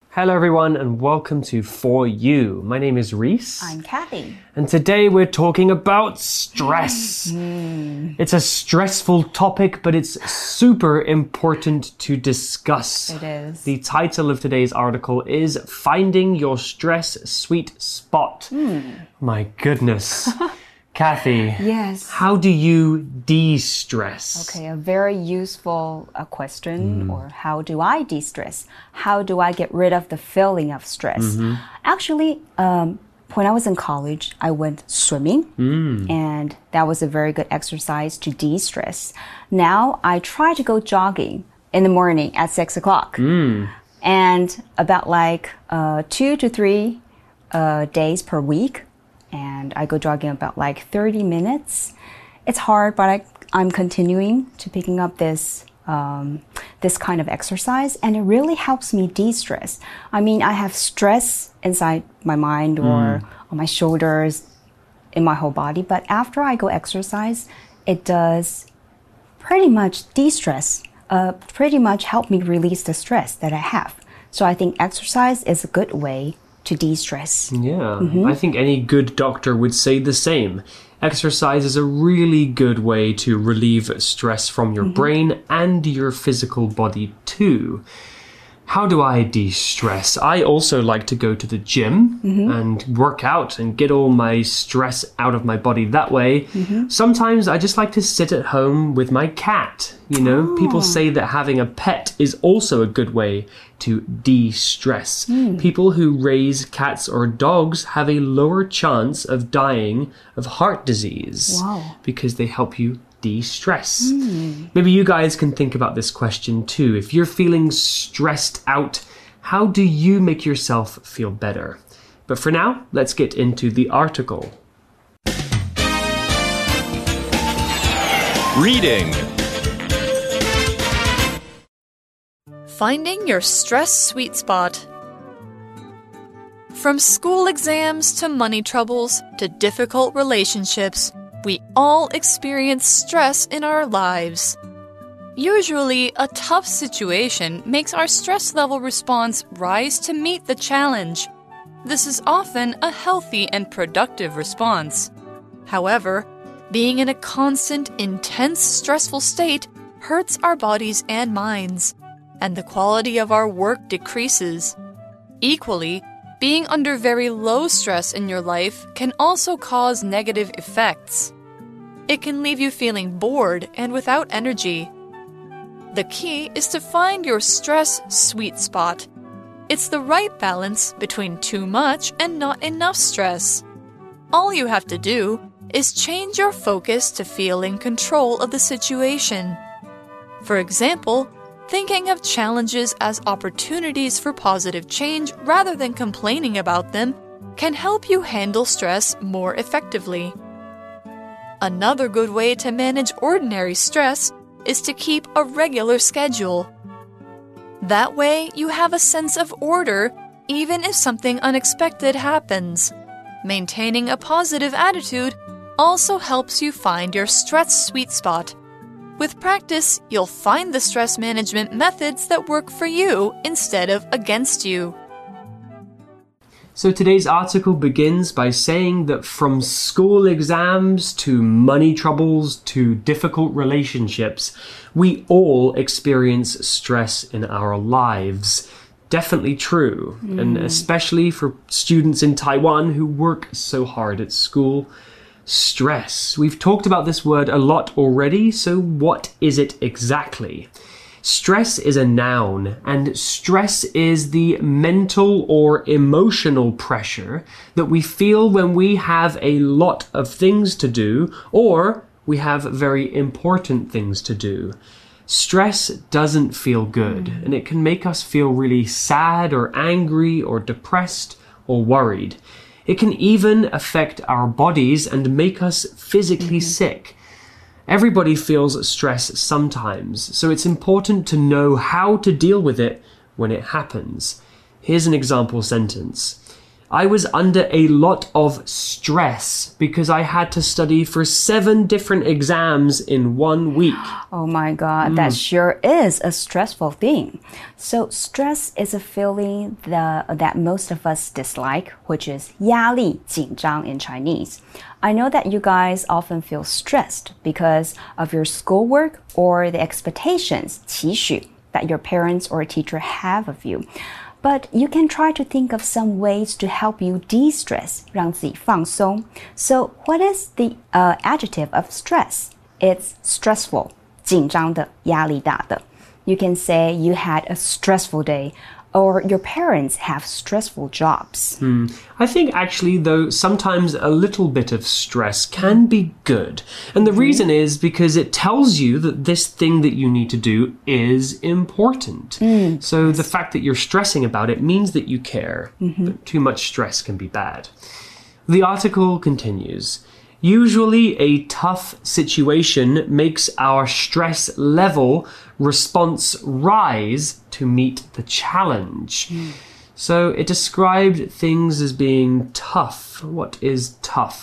Hello everyone and welcome to For You. My name is Reese. I'm Kathy. And today we're talking about stress. It's a stressful topic, but it's super important to discuss. It is. The title of today's article is Finding Your Stress Sweet Spot. My goodness. Kathy, Yes. how do you de-stress? Okay, a very useful question. Or how do I de-stress? How do I get rid of the feeling of stress? Actually, when I was in college, I went swimming, and that was a very good exercise to de-stress. Now, I try to go jogging in the morning at 6 o'clock. And about like 2 to 3 days per week. And I go jogging about like 30 minutes. It's hard, but I'm continuing to picking up this this kind of exercise, and it really helps me de-stress. I mean, I have stress inside my mind or on my shoulders, in my whole body, but after I go exercise, it does pretty much de-stress, pretty much help me release the stress that I have. So I think exercise is a good way to de-stress. Yeah, I think any good doctor would say the same. Exercise is a really good way to relieve stress from your brain and your physical body too. How do I de-stress? I also like to go to the gym and work out and get all my stress out of my body that way. Sometimes I just like to sit at home with my cat. You know, people say that having a pet is also a good way to de-stress. People who raise cats or dogs have a lower chance of dying of heart disease because they help you de-stress. Maybe you guys can think about this question too. If you're feeling stressed out, how do you make yourself feel better? But for now, let's get into the article. Reading. Finding your stress sweet spot. From school exams to money troubles to difficult relationships, we all experience stress in our lives. Usually, a tough situation makes our stress level response rise to meet the challenge. This is often a healthy and productive response. However, being in a constant, intense, stressful state hurts our bodies and minds, and the quality of our work decreases. Equally, being under very low stress in your life can also cause negative effects. It can leave you feeling bored and without energy. The key is to find your stress sweet spot. It's the right balance between too much and not enough stress. All you have to do is change your focus to feel in control of the situation. For example, thinking of challenges as opportunities for positive change rather than complaining about them can help you handle stress more effectively. Another good way to manage ordinary stress is to keep a regular schedule. That way, you have a sense of order even if something unexpected happens. Maintaining a positive attitude also helps you find your stress sweet spot. With practice, you'll find the stress management methods that work for you instead of against you. So today's article begins by saying that from school exams to money troubles to difficult relationships, we all experience stress in our lives. Definitely true, and especially for students in Taiwan who work so hard at school. Stress. We've talked about this word a lot already, so what is it exactly? Stress is a noun, and stress is the mental or emotional pressure that we feel when we have a lot of things to do or we have very important things to do. Stress doesn't feel good, and it can make us feel really sad or angry or depressed or worried. It can even affect our bodies and make us physically sick. Everybody feels stress sometimes, so it's important to know how to deal with it when it happens. Here's an example sentence. I was under a lot of stress because I had to study for 7 different exams in 1 week. Oh my God, that sure is a stressful thing. So stress is a feeling that most of us dislike, which is 压力,紧张 in Chinese. I know that you guys often feel stressed because of your schoolwork or the expectations, 期许, that your parents or a teacher have of you. But you can try to think of some ways to help you de-stress, 让自己放松. So what is the adjective of stress? It's stressful, 紧张的,压力大的. You can say you had a stressful day, or your parents have stressful jobs. I think actually, though, sometimes a little bit of stress can be good. And the reason is because it tells you that this thing that you need to do is important. So the fact that you're stressing about it means that you care. But too much stress can be bad. The article continues. Usually, a tough situation makes our stress level response rise to meet the challenge. So it described things as being tough. What is tough?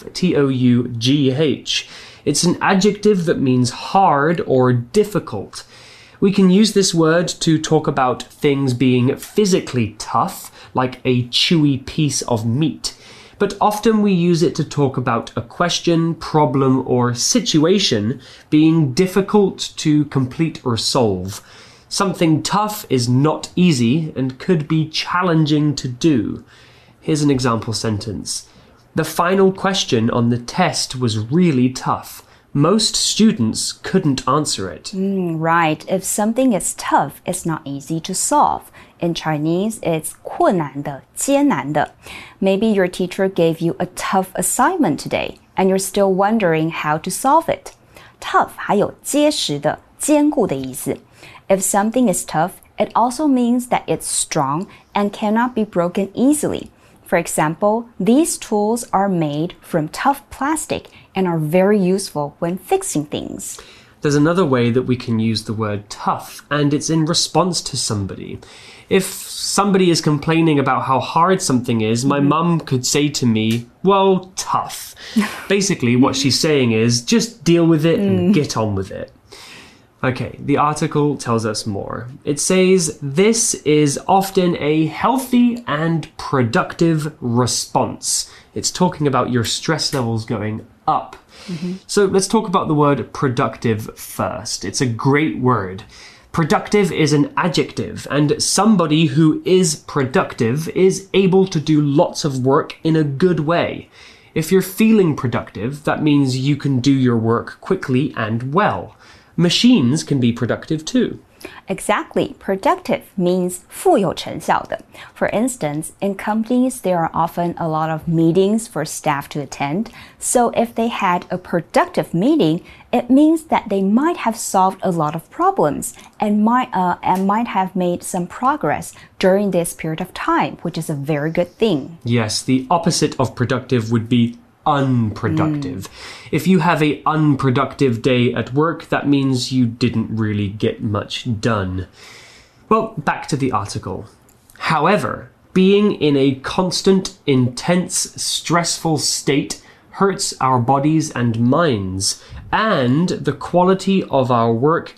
T-O-U-G-H. It's an adjective that means hard or difficult. We can use this word to talk about things being physically tough, like a chewy piece of meat. But often we use it to talk about a question, problem, or situation being difficult to complete or solve. Something tough is not easy and could be challenging to do. Here's an example sentence. The final question on the test was really tough. Most students couldn't answer it. Right. If something is tough, it's not easy to solve. In Chinese, it's 困难的,艰难的. Maybe your teacher gave you a tough assignment today, and you're still wondering how to solve it. Tough 还有结实的,坚固的意思. If something is tough, it also means that it's strong and cannot be broken easily. For example, these tools are made from tough plastic and are very useful when fixing things. There's another way that we can use the word tough, and it's in response to somebody. If somebody is complaining about how hard something is, my mum could say to me, well, tough. Basically, what she's saying is, just deal with it and get on with it. Okay, the article tells us more. It says, this is often a healthy and productive response. It's talking about your stress levels going up. So let's talk about the word productive first. It's a great word. Productive is an adjective, and somebody who is productive is able to do lots of work in a good way. If you're feeling productive, that means you can do your work quickly and well. Machines can be productive too. Exactly. Productive means 富有成效的. For instance, in companies, there are often a lot of meetings for staff to attend. So if they had a productive meeting, it means that they might have solved a lot of problems and might have made some progress during this period of time, which is a very good thing. Yes, the opposite of productive would be unproductive. If you have an unproductive day at work, that means you didn't really get much done. Well, back to the article. However, being in a constant, intense, stressful state hurts our bodies and minds, and the quality of our work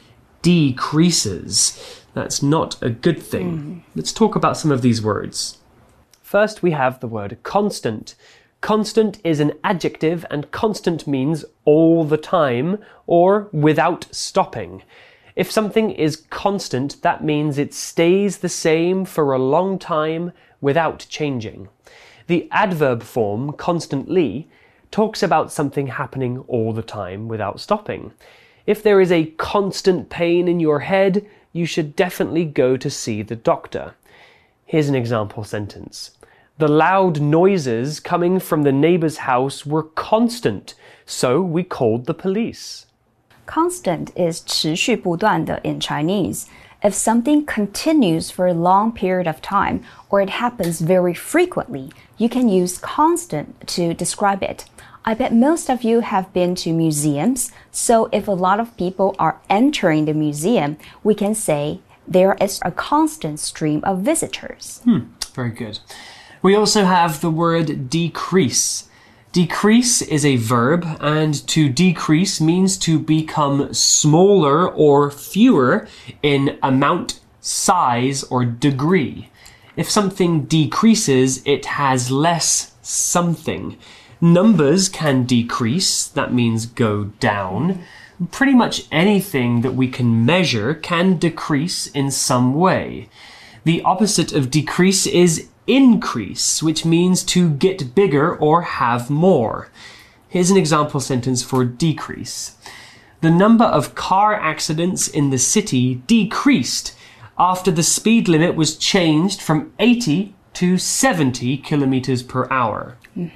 decreases. That's not a good thing. Let's talk about some of these words. First, we have the word constant. Constant is an adjective, and constant means all the time or without stopping. If something is constant, that means it stays the same for a long time without changing. The adverb form, constantly, talks about something happening all the time without stopping. If there is a constant pain in your head, you should definitely go to see the doctor. Here's an example sentence. The loud noises coming from the neighbor's house were constant, so we called the police. Constant is 持续不断的 in Chinese. If something continues for a long period of time, or it happens very frequently, you can use constant to describe it. I bet most of you have been to museums, so if a lot of people are entering the museum, we can say there is a constant stream of visitors. Very good. We also have the word decrease. Decrease is a verb, and to decrease means to become smaller or fewer in amount, size, or degree. If something decreases, it has less something. Numbers can decrease, that means go down. Pretty much anything that we can measure can decrease in some way. The opposite of decrease is increase, which means to get bigger or have more. Here's an example sentence for decrease. The number of car accidents in the city decreased after the speed limit was changed from 80 to 70 kilometers per hour.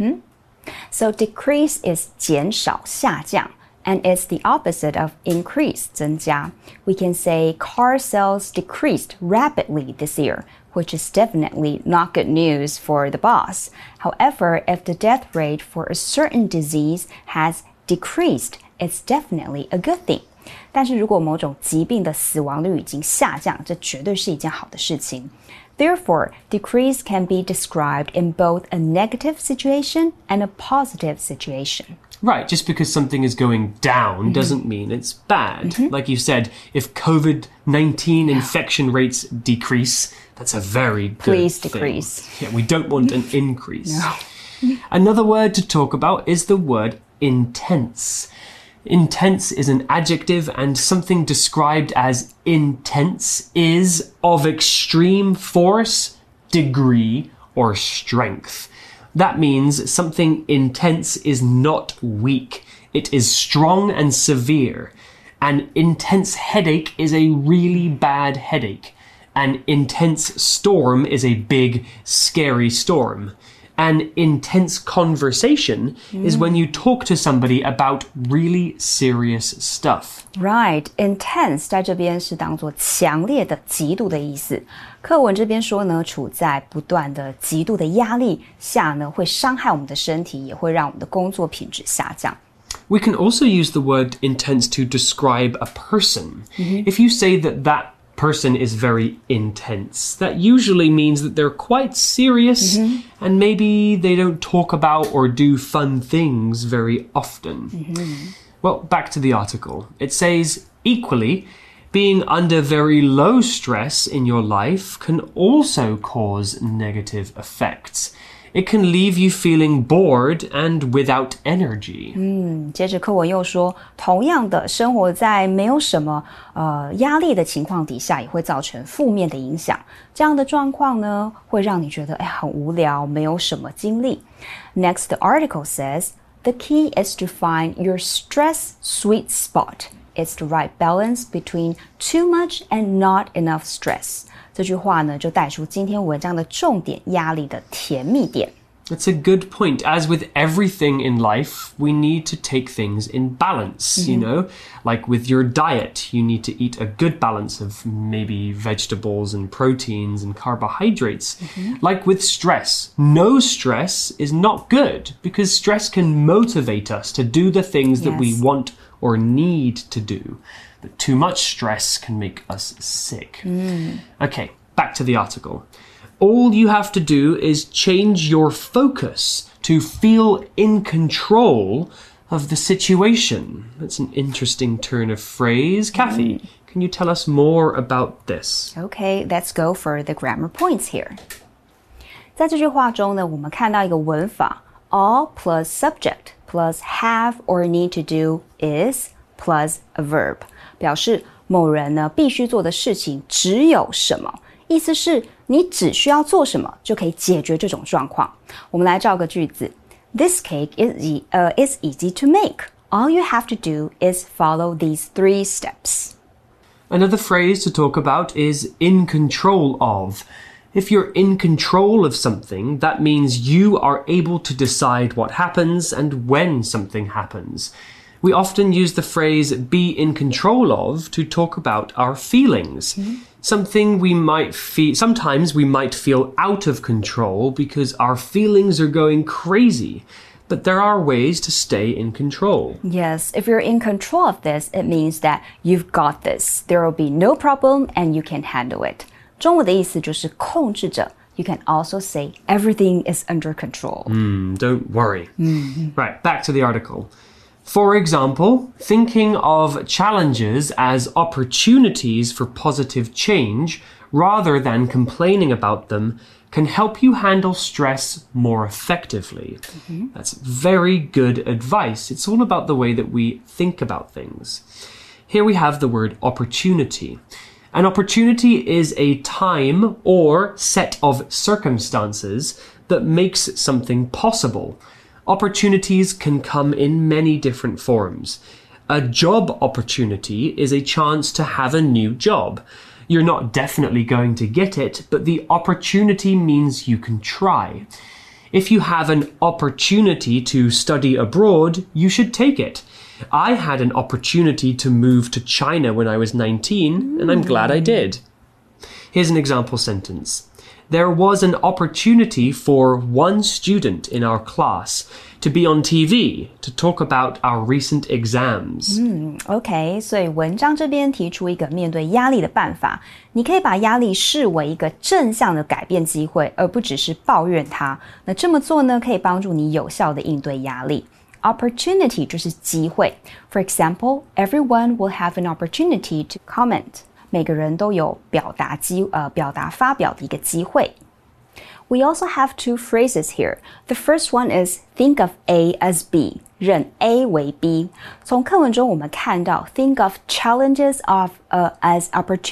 So decrease is 减少下降. And it's the opposite of increase, 增加. We can say car sales decreased rapidly this year, which is definitely not good news for the boss. However, if the death rate for a certain disease has decreased, it's definitely a good thing. 但是如果某种疾病的死亡率已经下降，这绝对是一件好的事情。Therefore, decrease can be described in both a negative situation and a positive situation. Right, just because something is going down doesn't mean it's bad. Like you said, if COVID-19 infection rates decrease, that's a very good Please thing. decrease. Yeah, we don't want an increase. No. Another word to talk about is the word intense. Intense is an adjective, and something described as intense is of extreme force, degree, or strength. That means something intense is not weak. It is strong and severe. An intense headache is a really bad headache. An intense storm is a big, scary storm. An intense conversation is when you talk to somebody about really serious stuff. Right, intense 在这边是当作强烈的、极度的意思。課文這邊說呢，處在不斷的極度的壓力下呢，會傷害我們的身體，也會讓我們的工作品質下降。 We can also use the word intense to describe a person. If you say that person is very intense, that usually means that they're quite serious and maybe they don't talk about or do fun things very often. Well, back to the article. It says, equally, being under very low stress in your life can also cause negative effects. It can leave you feeling bored and without energy. 接着課文又說，同樣的，生活在沒有什麼壓力的情況底下，也會造成負面的影響。這樣的狀況呢，會讓你覺得很無聊，沒有什麼精力。Next, the article says, the key is to find your stress sweet spot. It's the right balance between too much and not enough stress. 這句話呢，就帶出今天文章的重點，壓力的甜蜜點。 That's a good point. As with everything in life, we need to take things in balance, you know? Like with your diet, you need to eat a good balance of maybe vegetables and proteins and carbohydrates. Like with stress, no stress is not good because stress can motivate us to do the things that we want or need to do. But too much stress can make us sick. Okay, back to the article. All you have to do is change your focus to feel in control of the situation. That's an interesting turn of phrase. Kathy, can you tell us more about this? Okay, let's go for the grammar points here. 在这句話中呢，我們看到一個文法 all plus subject plus have or need to do is plus a verb. 表示某人呢必須做的事情只有什麼，意思是你只需要做什麼就可以解決這種狀況。我們來造個句子 This cake is easy to make. All you have to do is follow these 3 steps. Another phrase to talk about is in control of. If you're in control of something, that means you are able to decide what happens and when something happens. We often use the phrase be in control of to talk about our feelings. Sometimes we might feel out of control because our feelings are going crazy. But there are ways to stay in control. Yes, if you're in control of this, it means that you've got this. There will be no problem and you can handle it. 中文的意思就是控制着 You can also say everything is under control. Don't worry. Right, back to the article. For example, thinking of challenges as opportunities for positive change rather than complaining about them can help you handle stress more effectively. That's very good advice. It's all about the way that we think about things. Here we have the word opportunity. An opportunity is a time or set of circumstances that makes something possible. Opportunities can come in many different forms. A job opportunity is a chance to have a new job. You're not definitely going to get it, but the opportunity means you can try. If you have an opportunity to study abroad, you should take it. I had an opportunity to move to China when I was 19, and I'm glad I did. Here's an example sentence. There was an opportunity for one student in our class to be on TV to talk about our recent exams. OK, 所以文章这邊提出一個面對壓力的辦法，你可以把壓力視為一個正向的改變機會，而不只是抱怨它。那這麼做呢，可以幫助你有效的應對壓力。Opportunity 就是機會。For example, everyone will have an opportunity to comment. 每個人都有表達發表的一個機會。We also have two phrases here. The first one is think of A as B. 認 A 為 B. 從課文中我們看到 think of challenges as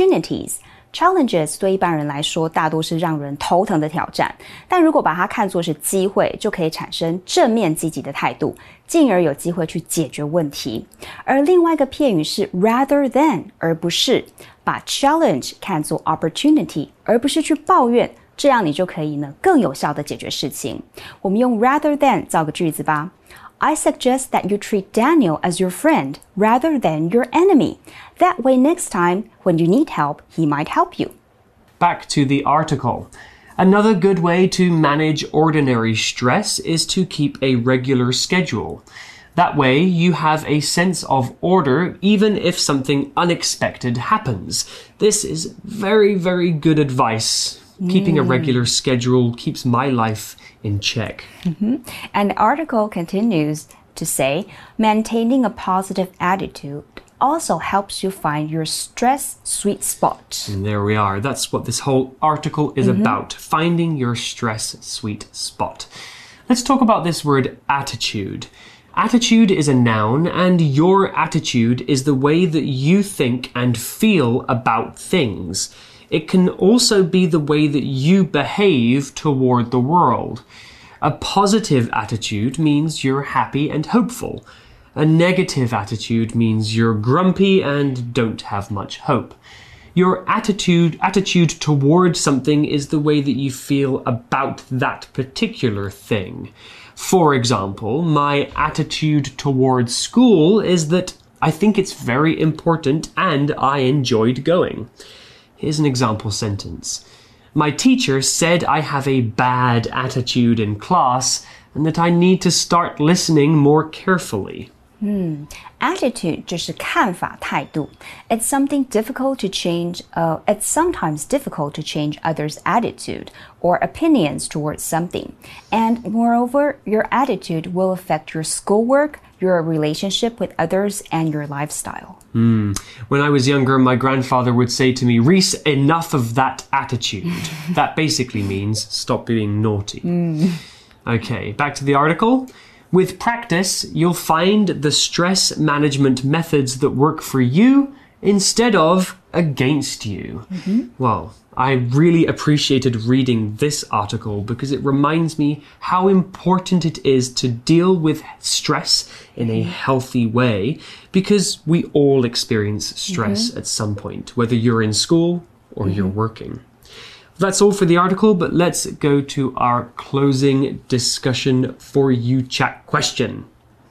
opportunities.Challenges 對一般人來說大多是讓人頭疼的挑戰，但如果把它看作是機會，就可以產生正面積極的態度，進而有機會去解決問題。而另外一個片語是 rather than 而不是，把 challenge 看作 opportunity 而不是去抱怨，這樣你就可以呢更有效的解決事情。我們用 rather than 造個句子吧。I suggest that you treat Daniel as your friend rather than your enemy. That way next time, when you need help, he might help you. Back to the article. Another good way to manage ordinary stress is to keep a regular schedule. That way, you have a sense of order even if something unexpected happens. This is very, very good advice. Keeping a regular schedule keeps my life in check. And the article continues to say, maintaining a positive attitude also helps you find your stress sweet spot. And there we are. That's what this whole article is about, finding your stress sweet spot. Let's talk about this word attitude. Attitude is a noun, and your attitude is the way that you think and feel about things. It can also be the way that you behave toward the world. A positive attitude means you're happy and hopeful. A negative attitude means you're grumpy and don't have much hope. Your attitude toward something is the way that you feel about that particular thing. For example, my attitude towards school is that I think it's very important and I enjoyed going. Here's an example sentence. My teacher said I have a bad attitude in class and that I need to start listening more carefully. Attitude 就是看法態度。It's something difficult to change. It's sometimes difficult to change others' attitude or opinions towards something. And moreover, your attitude will affect your schoolwork, your relationship with others, and your lifestyle. When I was younger, my grandfather would say to me, Reese, enough of that attitude. That basically means stop being naughty. Okay, back to the article. With practice, you'll find the stress management methods that work for you instead of against you. Well, I really appreciated reading this article because it reminds me how important it is to deal with stress in a healthy way, because we all experience stress at some point, whether you're in school or you're working. That's all for the article, but let's go to our closing discussion for you chat question.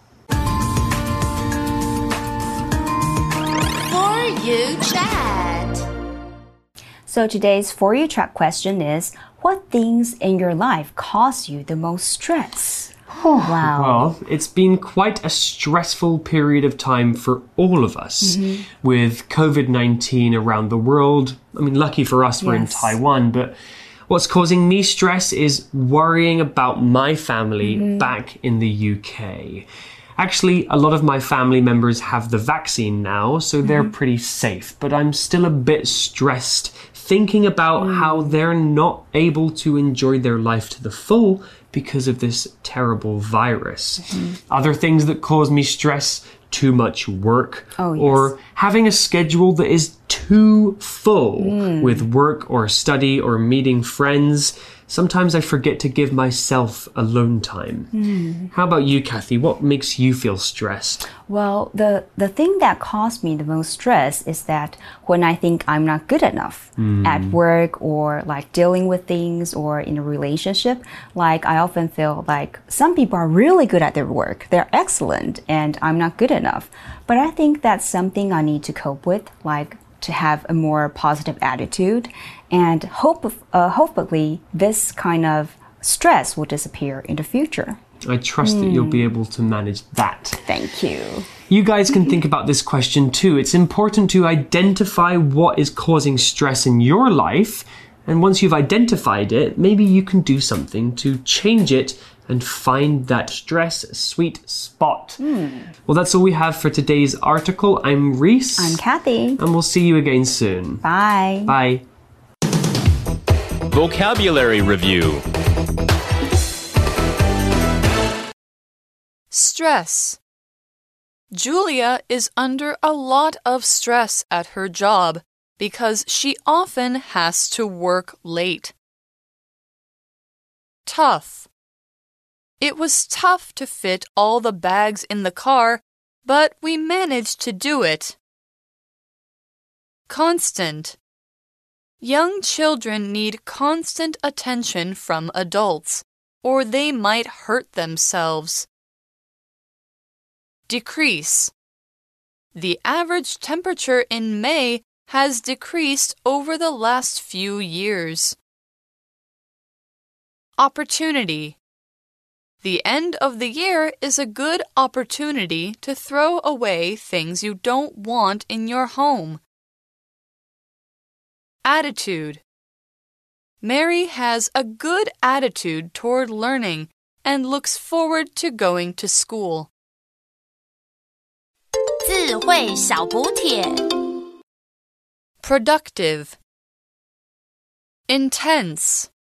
For you chat. So today's For You Chat question is, what things in your life cause you the most stress? Wow. Well, it's been quite a stressful period of time for all of us with COVID-19 around the world. I mean, lucky for us, we're in Taiwan, but What's causing me stress is worrying about my family back in the UK. Actually, a lot of my family members have the vaccine now, so they're pretty safe. But I'm still a bit stressed thinking about how they're not able to enjoy their life to the full because of this terrible virus. Other things that cause me stress, too much work, or having a schedule that is too full with work or study or meeting friends. Sometimes I forget to give myself alone time. How about you, Kathy? What makes you feel stressed? Well, the thing that caused me the most stress is that when I think I'm not good enough at work or like dealing with things or in a relationship, like I often feel like some people are really good at their work. They're excellent and I'm not good enough. But I think that's something I need to cope with, like to have a more positive attitude, and hopefully this kind of stress will disappear in the future. I trust that you'll be able to manage that. Thank you. You guys can think about this question too. It's important to identify what is causing stress in your life, and once you've identified it, maybe you can do something to change it and find that stress sweet spot. Well, that's all we have for today's article. I'm Reese. I'm Kathy. And we'll see you again soon. Bye. Bye. Vocabulary Review. Stress. Julia is under a lot of stress at her job because she often has to work late. Tough. It was tough to fit all the bags in the car, but we managed to do it. Constant. Young children need constant attention from adults, or they might hurt themselves. Decrease. The average temperature in May has decreased over the last few years. Opportunity. The end of the year is a good opportunity to throw away things you don't want in your home. Attitude. Mary has a good attitude toward learning and looks forward to going to school. 智慧小補帖 Productive. Intense.